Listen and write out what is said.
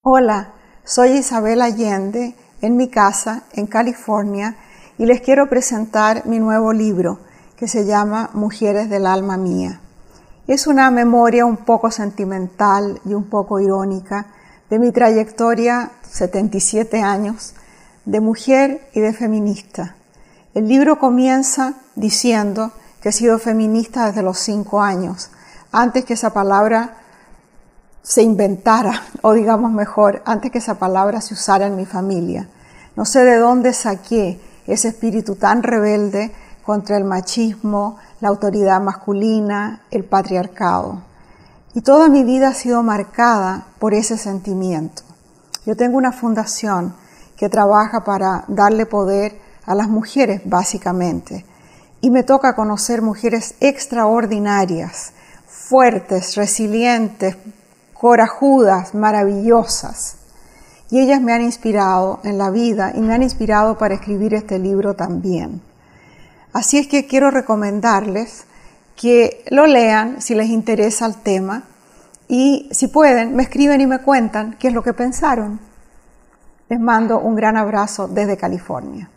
Hola, soy Isabel Allende en mi casa en California y les quiero presentar mi nuevo libro que se llama Mujeres del alma mía. Es una memoria un poco sentimental y un poco irónica de mi trayectoria, 77 años, de mujer y de feminista. El libro comienza diciendo que he sido feminista desde los 5 años, antes que esa palabra se inventara, o digamos mejor, antes que esa palabra se usara en mi familia. No sé de dónde saqué ese espíritu tan rebelde contra el machismo, la autoridad masculina, el patriarcado. Y toda mi vida ha sido marcada por ese sentimiento. Yo tengo una fundación que trabaja para darle poder a las mujeres, básicamente. Y me toca conocer mujeres extraordinarias, fuertes, resilientes, corajudas, maravillosas. Y ellas me han inspirado en la vida y me han inspirado para escribir este libro también. Así es que quiero recomendarles que lo lean si les interesa el tema y si pueden, me escriben y me cuentan qué es lo que pensaron. Les mando un gran abrazo desde California.